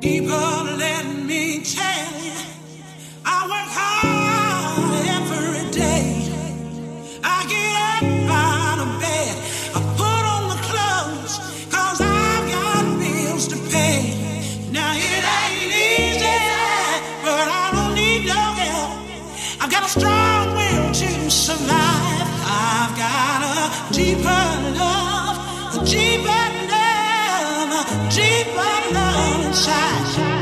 People, let me tell you, I work hard every day. I get up out of bed, I put on the clothes, cause I've got bills to pay. Now it ain't easy, but I don't need no help. I've got a strong will to survive. I've got a deeper love, a deeper love, a deeper love inside.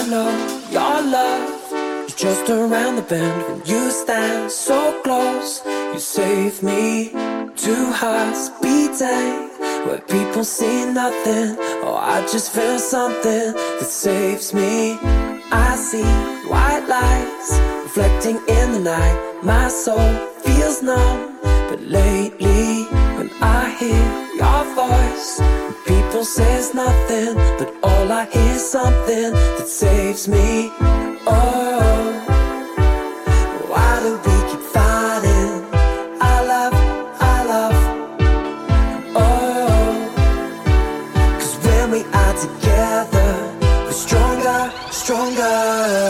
know your love is just around the bend. When you stand so close, you save me. Two hearts beating where people see nothing. Oh, I just feel something that saves me. I see white lights reflecting in the night. My soul feels numb, but lately when I hear your voice, people says nothing, but all I hear is something that saves me. Oh, why do we keep fighting? I love. Oh, 'cause when we are together, we're stronger, stronger.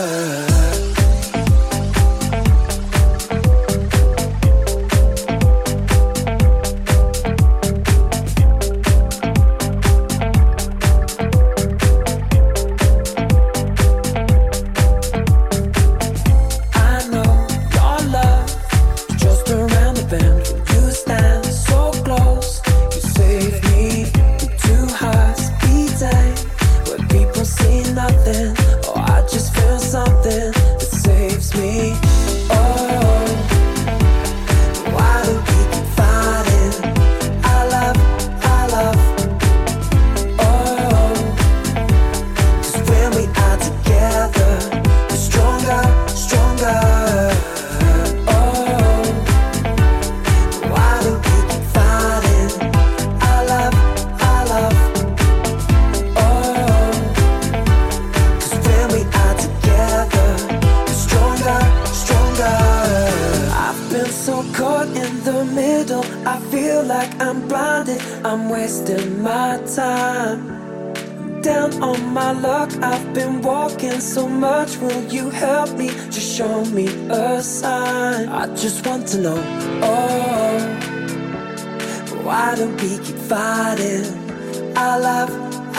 I'm wasting my time. Down on my luck, I've been walking so much. Will you help me? Just show me a sign. I just want to know, oh, why do we keep fighting? I love,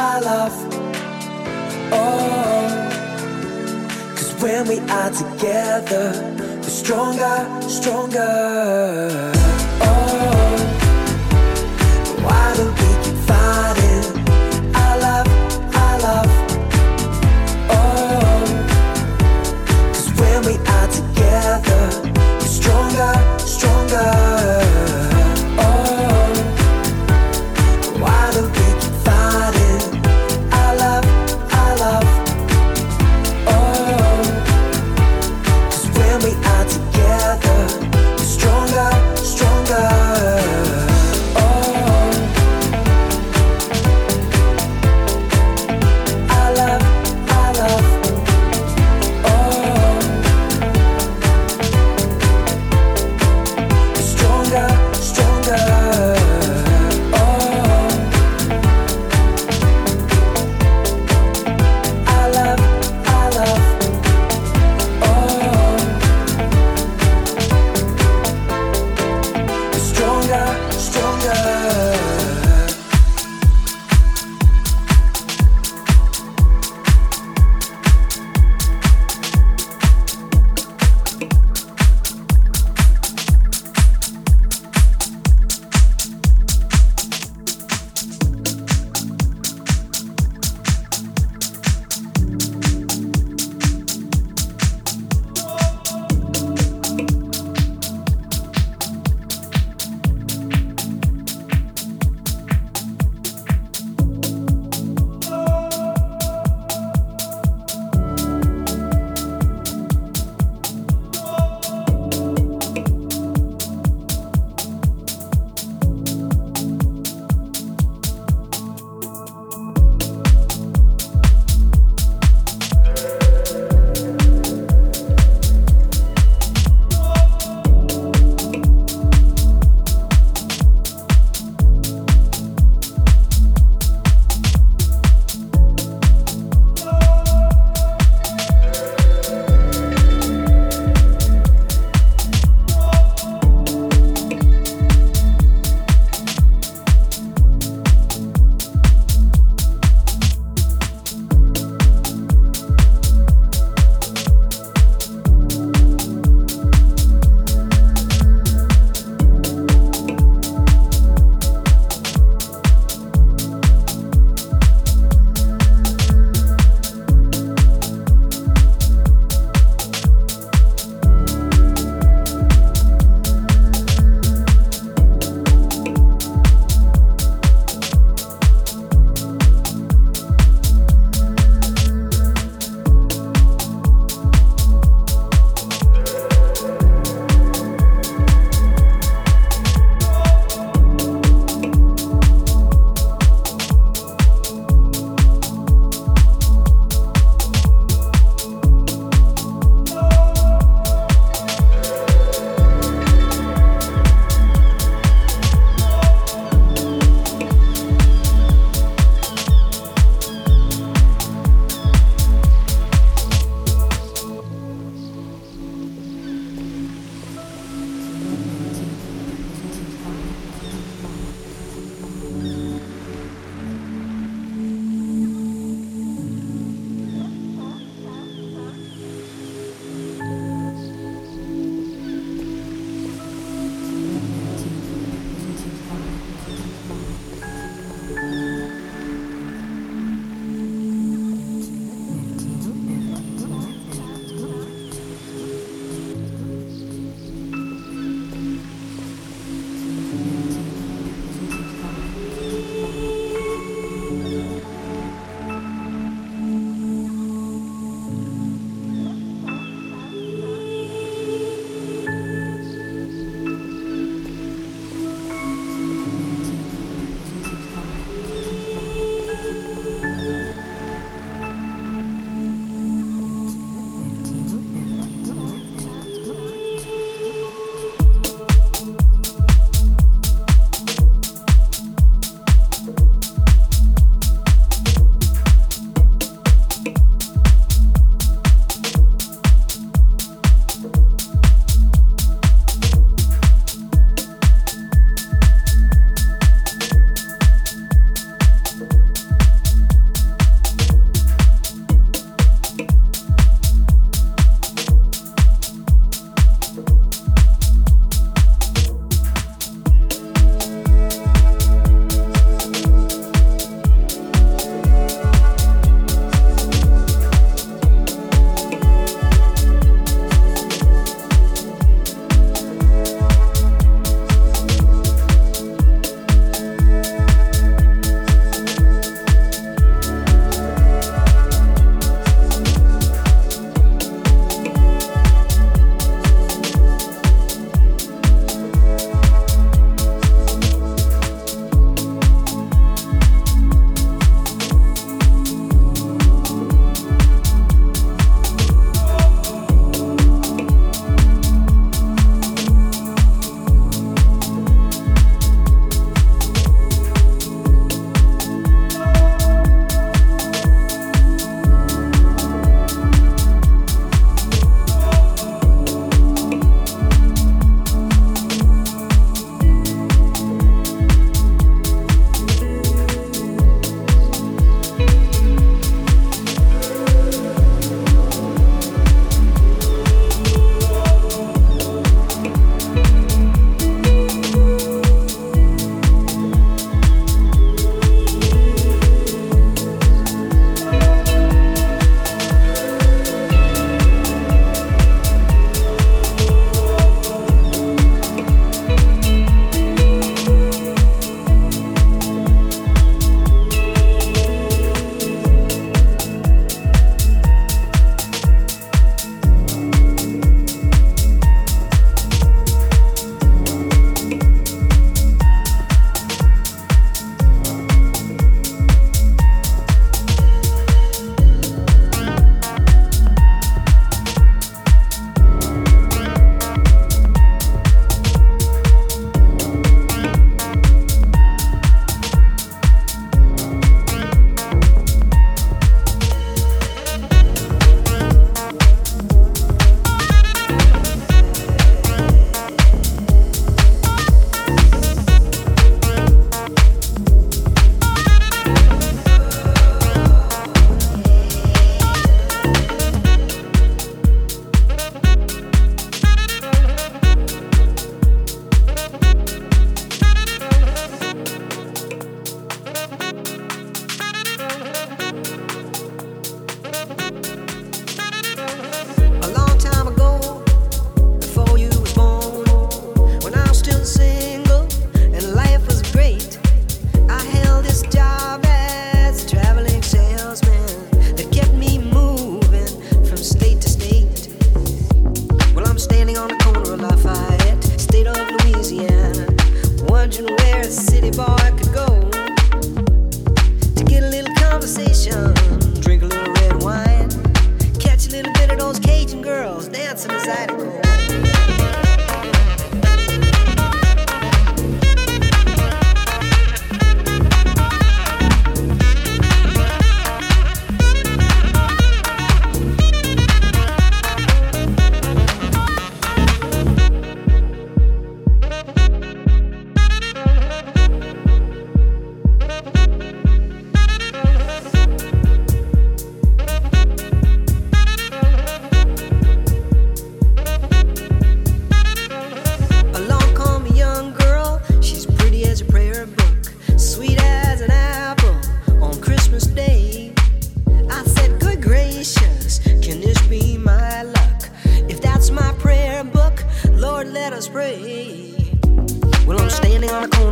oh, 'cause when we are together, we're stronger, stronger. Oh, why do we keep fighting? I love, oh, 'cause when we are together, we're stronger, stronger. Oh, why do we keep fighting? I love, oh, 'cause when we are together, we're stronger, stronger.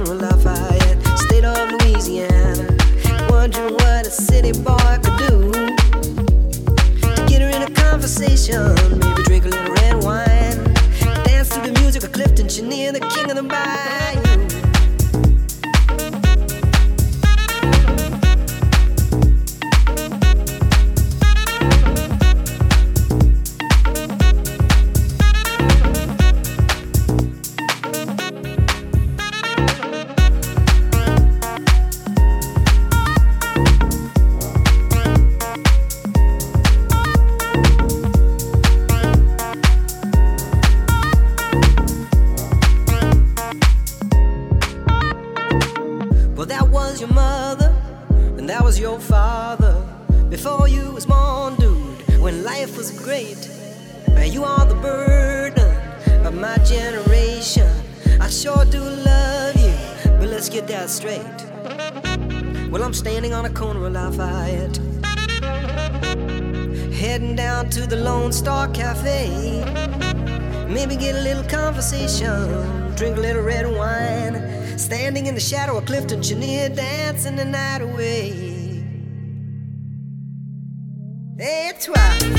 corner of Lafayette, state of Louisiana, wondering what a city boy could do to get her in a conversation, maybe drink a little red wine, dance to the music of Clifton Chenier, the king of the bayou. Your mother, and that was your father. Before you was born, dude, when life was great. You are the burden of my generation. I sure do love you, but let's get that straight. Well, I'm standing on a corner of Lafayette, heading down to the Lone Star Cafe. Maybe get a little conversation, drink a little red wine, standing in the shadow of Clifton Chenier, dancing the night away. That's right.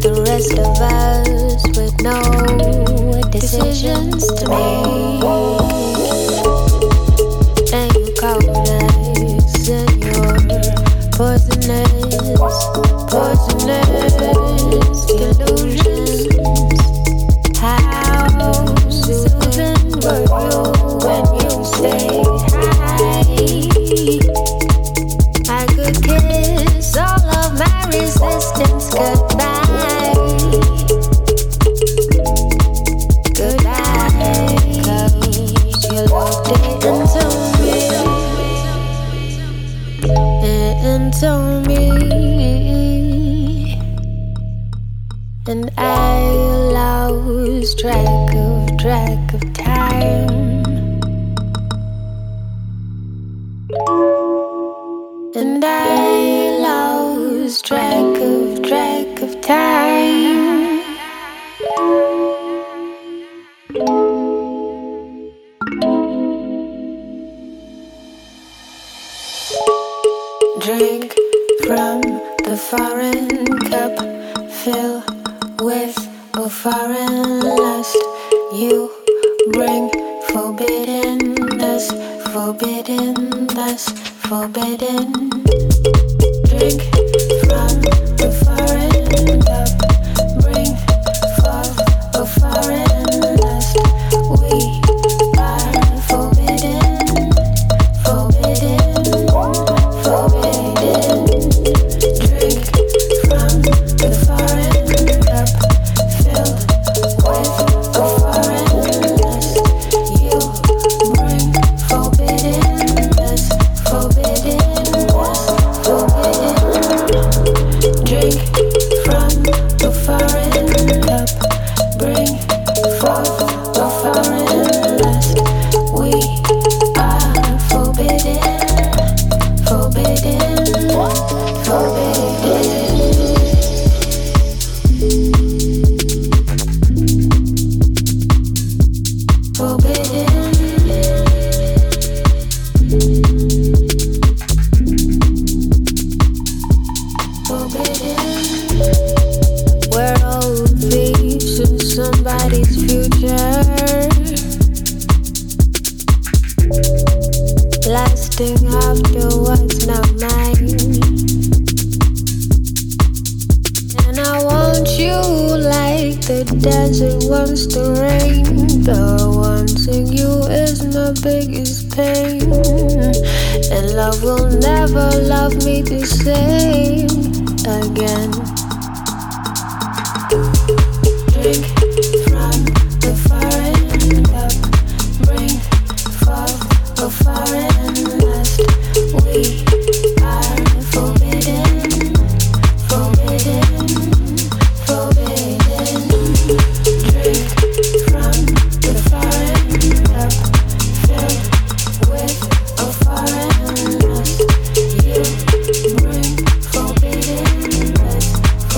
the rest of us with no decisions to make. And you cowardice and you're poisonous, poisonous delusions. How soothing were you when you say hi? I could kiss all of my resistance goodbye. Goodbye, 'cause you looked into me, and I lost track of time, and I lost track of time. Drink from the foreign cup, fill with a foreign lust. You bring forbiddenness, forbidden thus, forbidden. Drink from the foreign cup, bring forth a foreign lust. We are forbidden, forbidden, forbidden. Drink from the foreign cup, filled with a foreign lust. You bring forbiddenness, forbiddenness, forbidden. Drink from the foreign cup, bring forth a foreign lust. We are forbidden, forbidden, forbidden. We're all thieves in somebody's future, lasting after what's not mine. And I want you like the desert wants the rain. The wanting you is my biggest pain, and love will never love me the same again. Drink from the foreign cup, bring forth a foreign lust. We are forbidden, forbidden, forbidden. Drink from the foreign cup, filled with a foreign lust. You bring forbiddenness,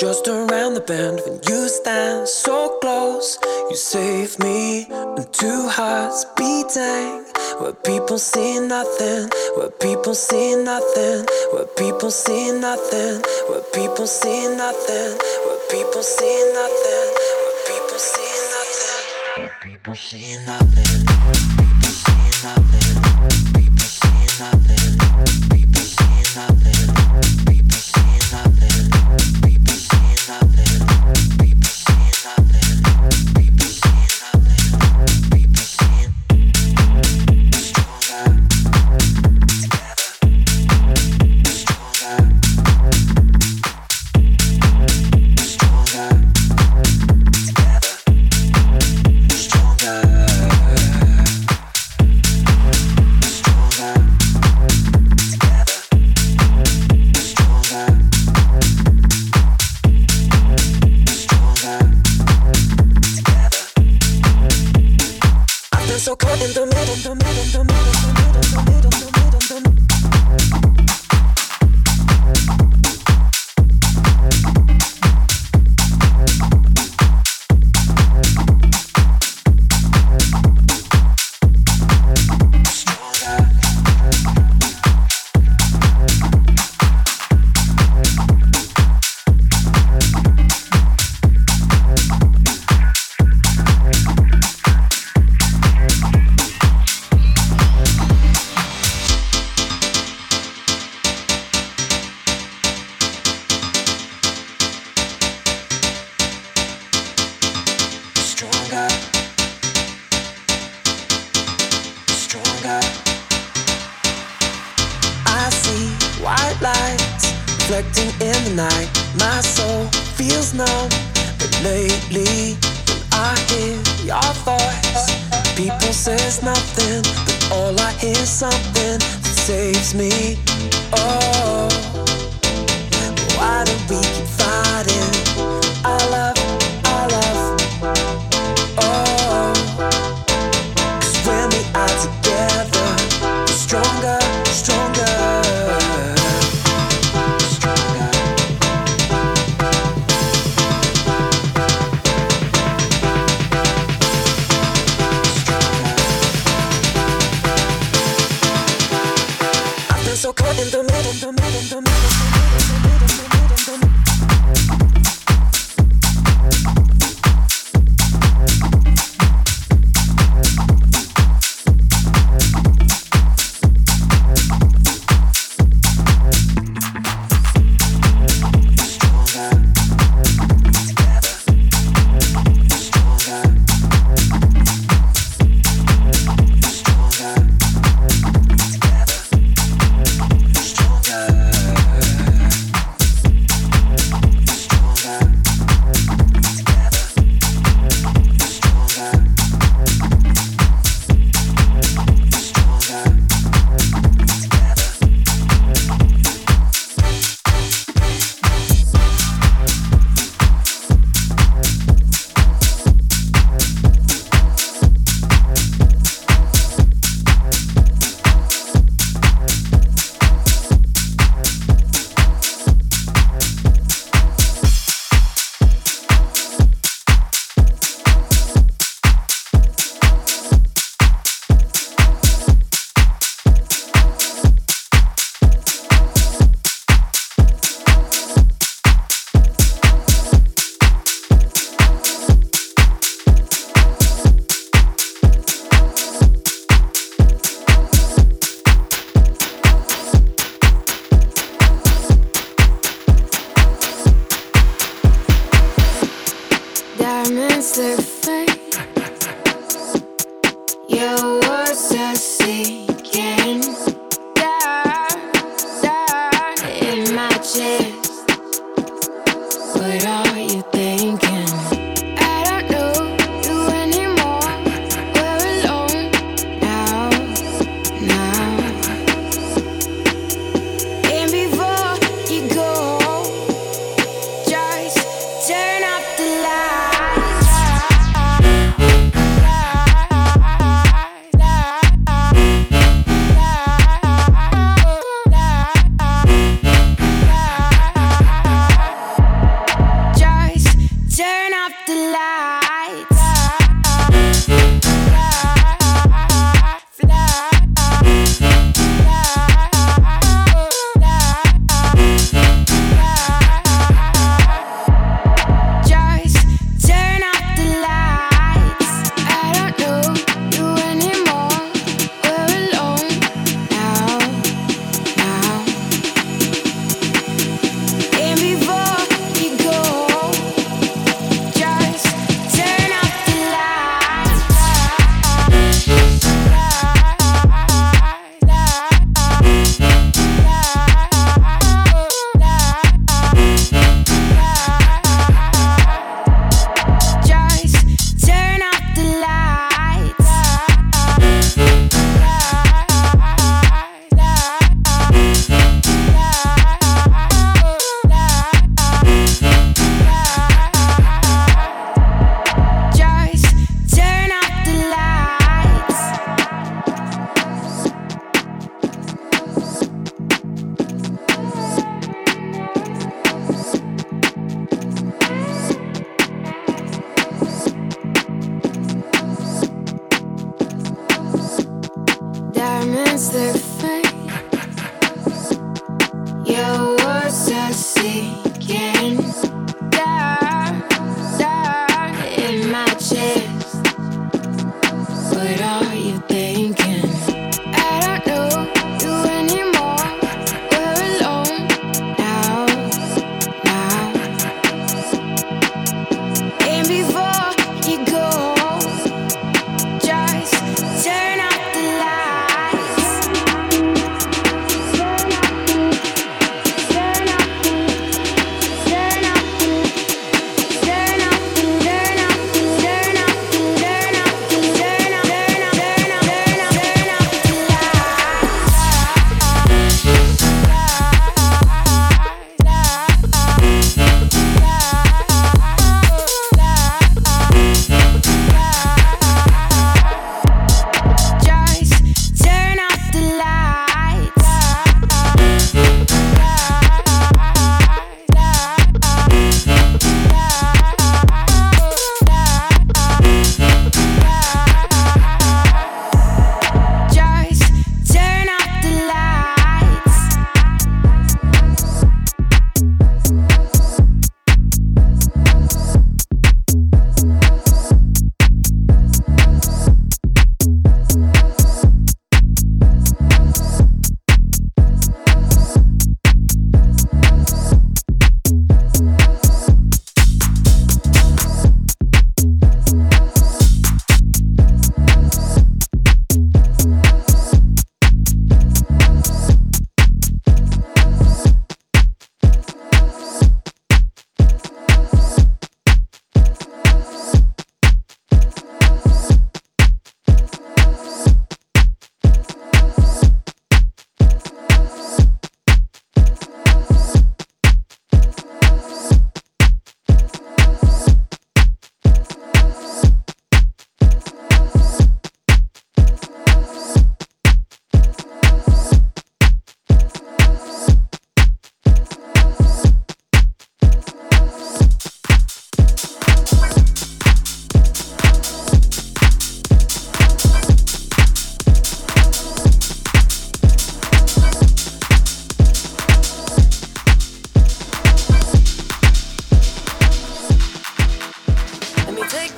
just around the bend when you stand so close. You save me and two hearts beating. Where people see nothing, where people see nothing, where people see nothing, where people see nothing, where people see nothing, where people see nothing, where people see nothing, people see nothing, people see nothing, people see nothing, people see nothing, people see nothing, people see nothing, people see nothing, people see stronger together, stronger, stronger together, stronger, stronger together, stronger, stronger together. I've been so caught in the middle, the middle, the middle, the middle, the middle, the middle, the middle. Stronger, stronger. I see white lights reflecting in the night. My soul feels numb, but lately when I hear your voice, people says nothing, but all I hear is something that saves me. Oh, why do we keep fighting? I love, I love. Oh, 'cause when we are together, we're stronger, stronger, stronger. I've been so caught in the middle, the middle, the middle, the middle, the middle, the middle, the middle. Diamonds they fade, your words are sinking down, down in my chest. What are you thinking? I don't know you anymore. We're alone now, now. And before you go, just turn off the lights.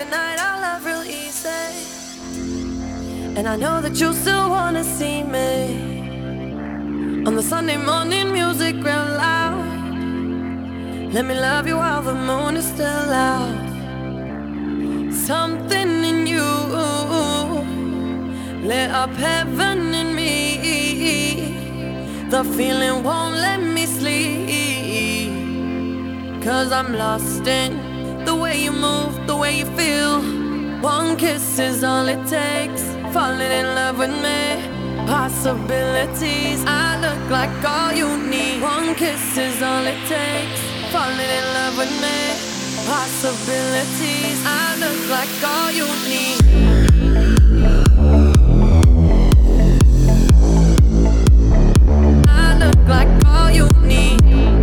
the night our love real easy. And I know that you still wanna see me on the Sunday morning music real loud. Let me love you while the moon is still out. Something in you lit up heaven in me. The feeling won't let me sleep, 'cause I'm lost in the way you move, the way you feel. One kiss is all it takes, falling in love with me. Possibilities, I look like all you need. One kiss is all it takes, falling in love with me. Possibilities, I look like all you need. I look like all you need.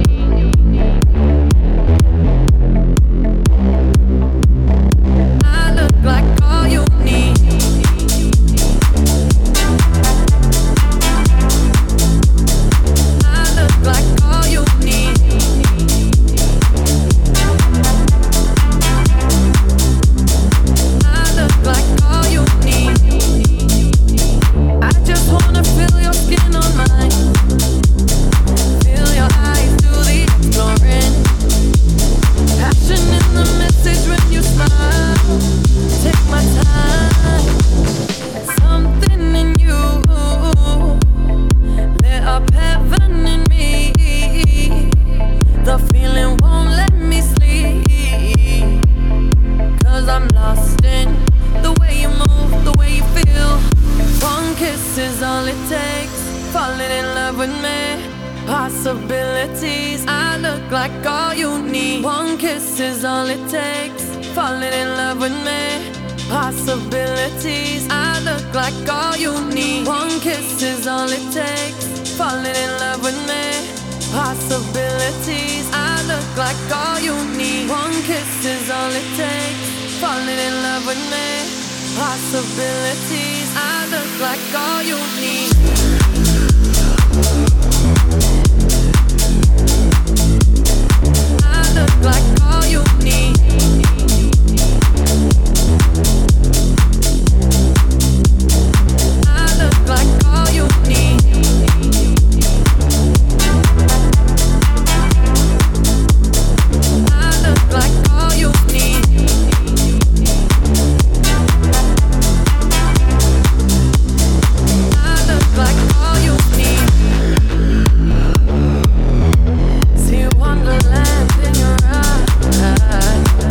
I look like all you need. I look like all you need. I look like all you need. I just wanna feel your skin on mine. Feel your eyes do the exploring. Passion in the message when you smile. Take my time. Something in you lit up heaven in me. The feeling won't let me sleep, 'cause I'm lost in the way you move, the way you feel. One kiss is all it takes, falling in love with me. Possibilities, I look like all you need. One kiss is all it takes, falling in love with me. Possibilities, I look like all you need. One kiss is all it takes, falling in love with me. Possibilities, I look like all you need. One kiss is all it takes, falling in love with me. Possibilities, I look like all you need. I look like all you need. I look like all you need. I look like all you need. I look like all you need. See wonderland in your eyes.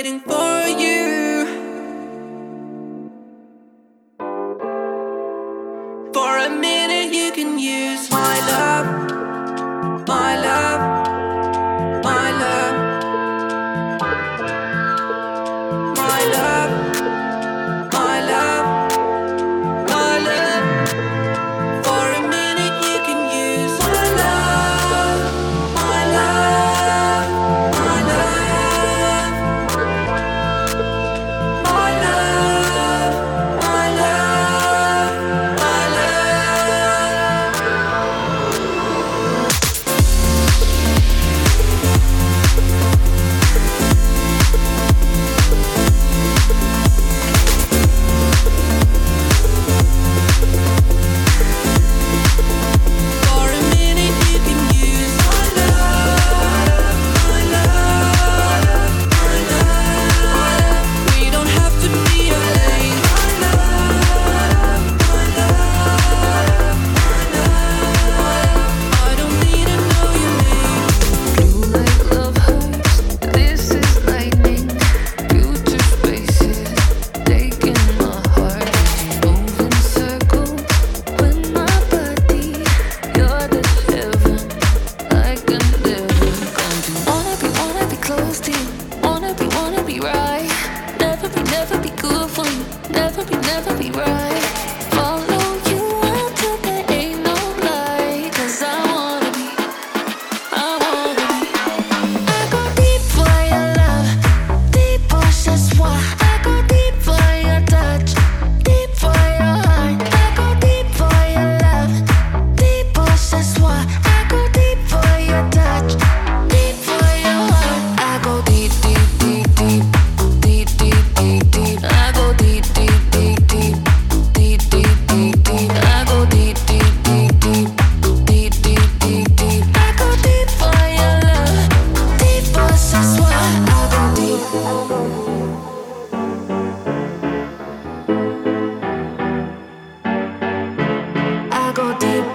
waiting for you. For a minute you can use my love, my love, my love, my love, my love, my love. For a minute you can use my love, my love, my love, my love, my love, my love. For a minute you can use my love, my love, my love. We don't have to be alone. My love, my love, my love. I don't need to know your name. Blue like love hurts. This is lightning. Future spaces taking my heart. Move in circles with my body. You're the heaven I can live in. Wanna be close to you. Wanna be right. Never be good for you. Never be right. Follow you until there ain't no light. 'Cause I wanna be. I go deep for your love, deep pour ce soir. I go deep for your touch, deep for your heart. I go deep for your love, deep pour ce soir. I go deep for your touch, deep for your heart. I go deep, deep, deep, deep, deep, deep, deep, deep. I go deep, deep, deep, deep, deep, deep, deep, deep. I go deep, deep, deep, deep, deep, deep, deep, deep. I go deep for your love, deep for ce soir. I go deep. I go deep.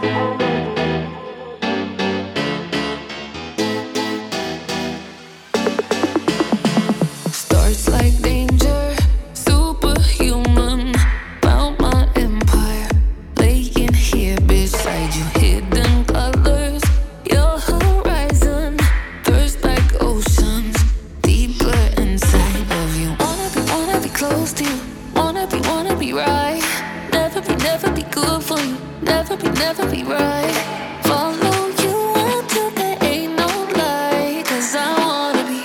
Starts like danger, superhuman. Found my empire, laying here beside you. Hidden colors, your horizon. Thirst like oceans, deeper inside of you. Wanna be close to you. Wanna be right. Never be good for you. Never be right. Follow you until there ain't no light. 'Cause I wanna be.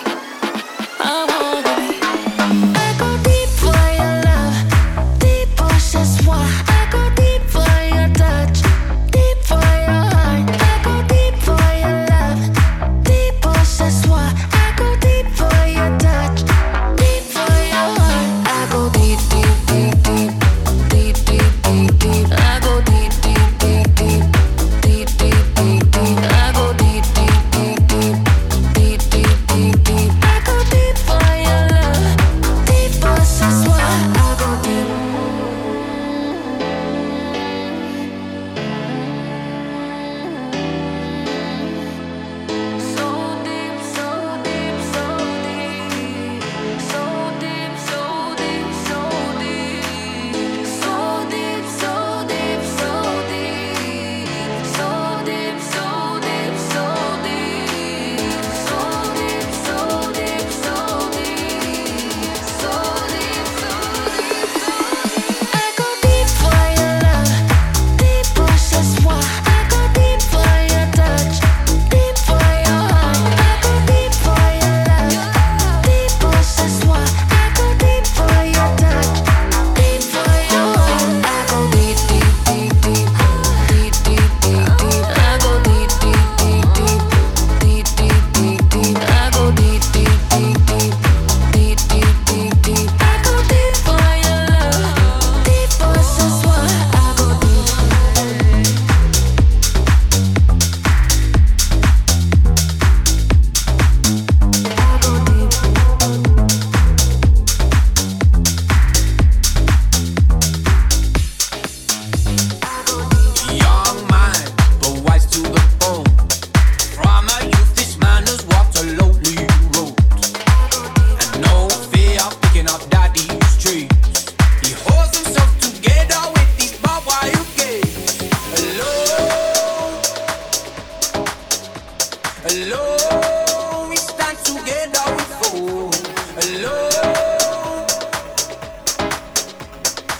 I go deep for your love, deep pour ce soir. I go deep for your touch, deep for your heart. I go deep for your love, deep pour ce soir. I go deep for your touch, deep for your heart. I go deep, deep, deep, deep, deep, deep, deep, deep. I go deep, deep, deep, deep,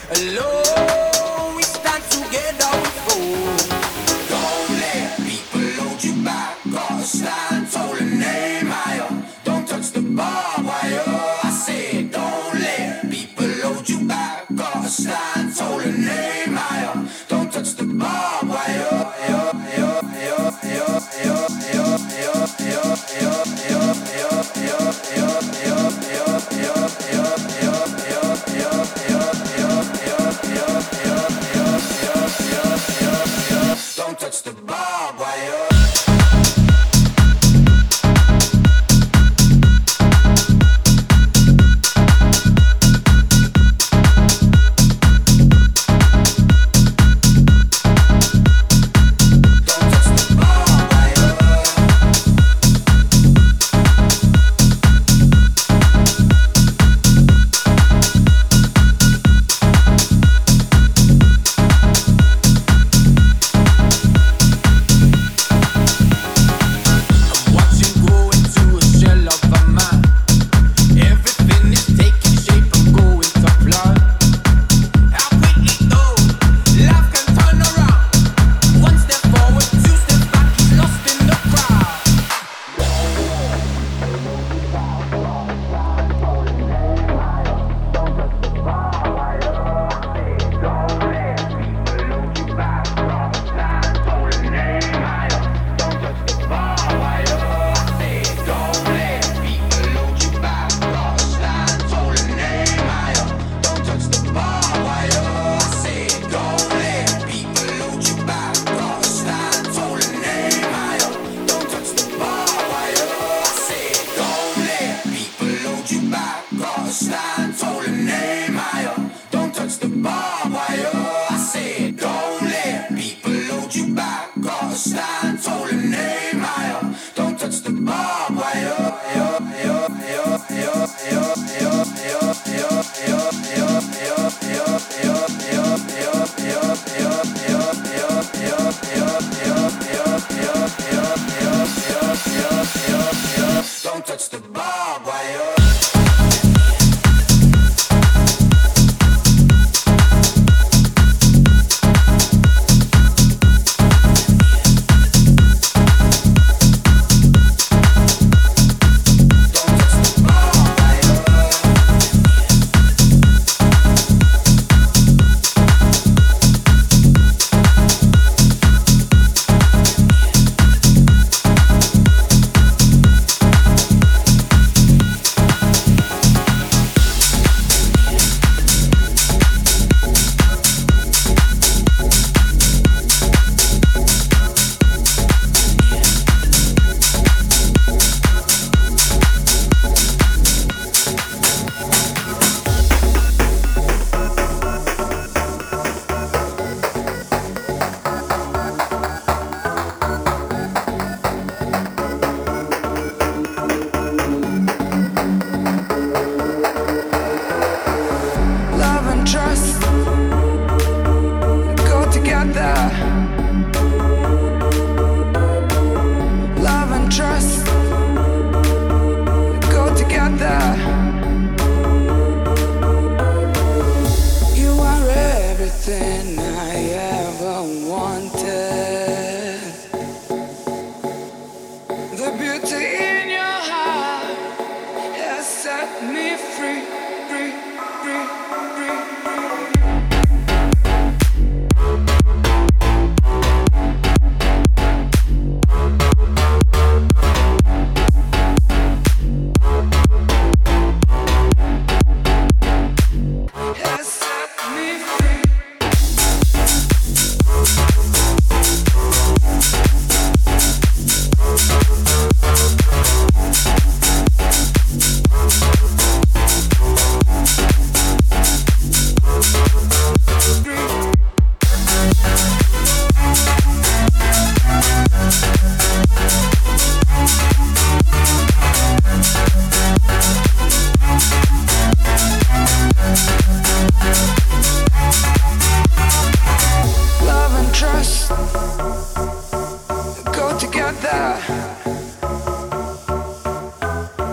Alone we stand together we fall. Don't let people hold you back. Gotta stand tall and aim higher. Don't touch the barbed wire. I said don't let people hold you back. Gotta stand tall and aim higher. Don't touch the barbed wire. Don't touch the barbed wire. Don't touch the barbed wire.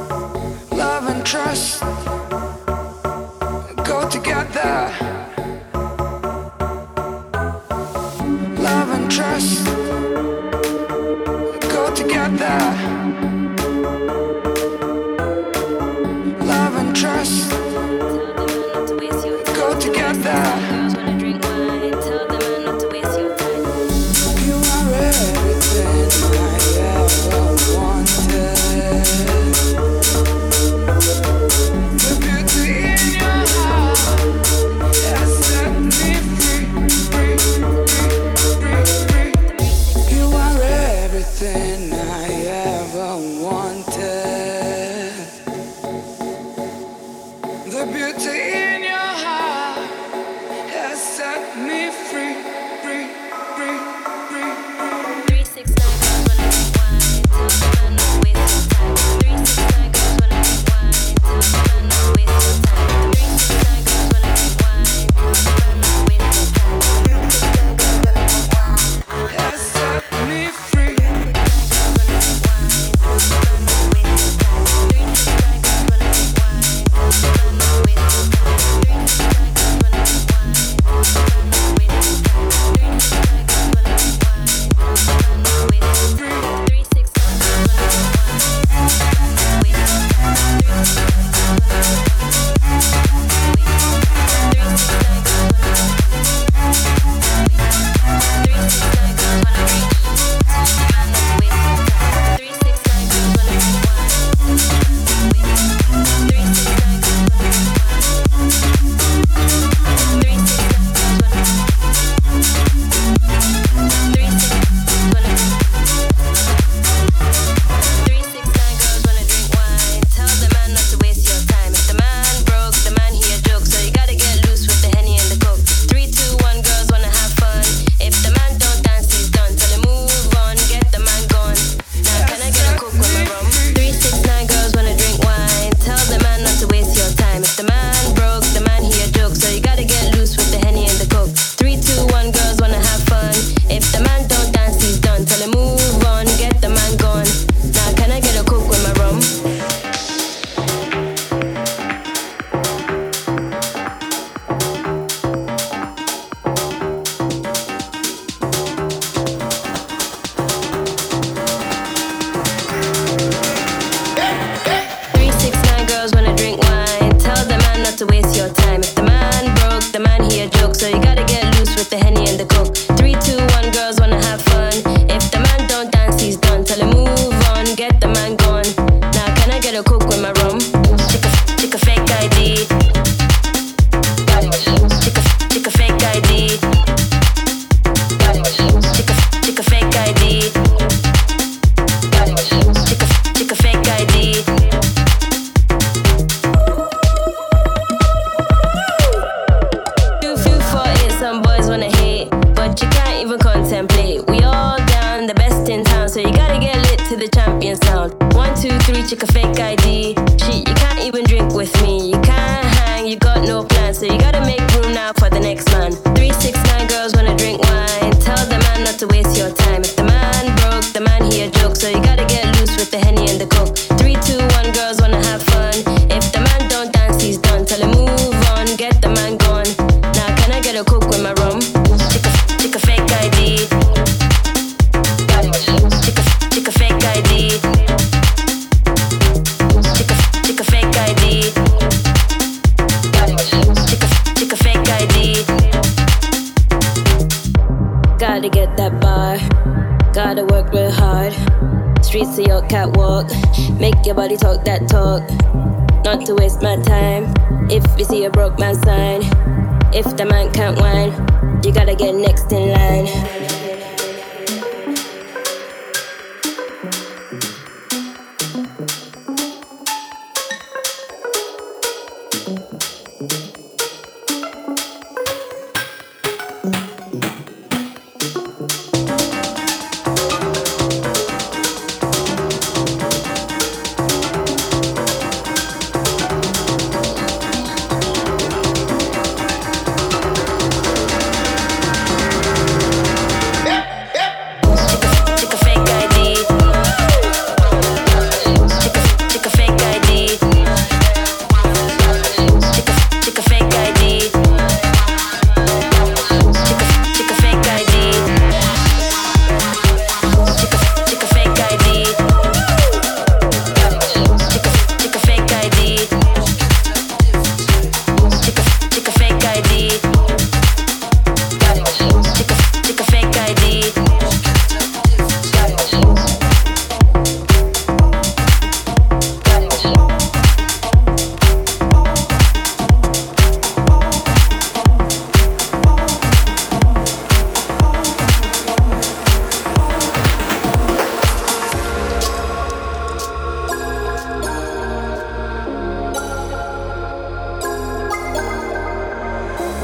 Love and trust go together. Stick a fake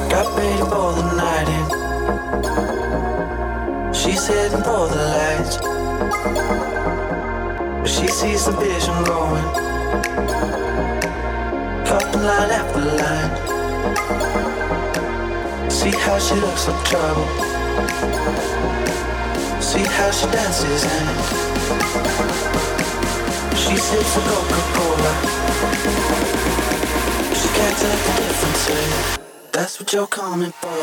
Got ready for the night in. She's heading for the lights, but she sees the vision going. Couple line after line. See how she looks like trouble. See how she dances and she sips a Coca-Cola. She can't tell the difference, eh? That's what you're coming for,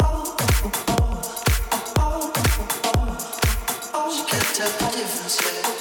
tell the difference, yeah.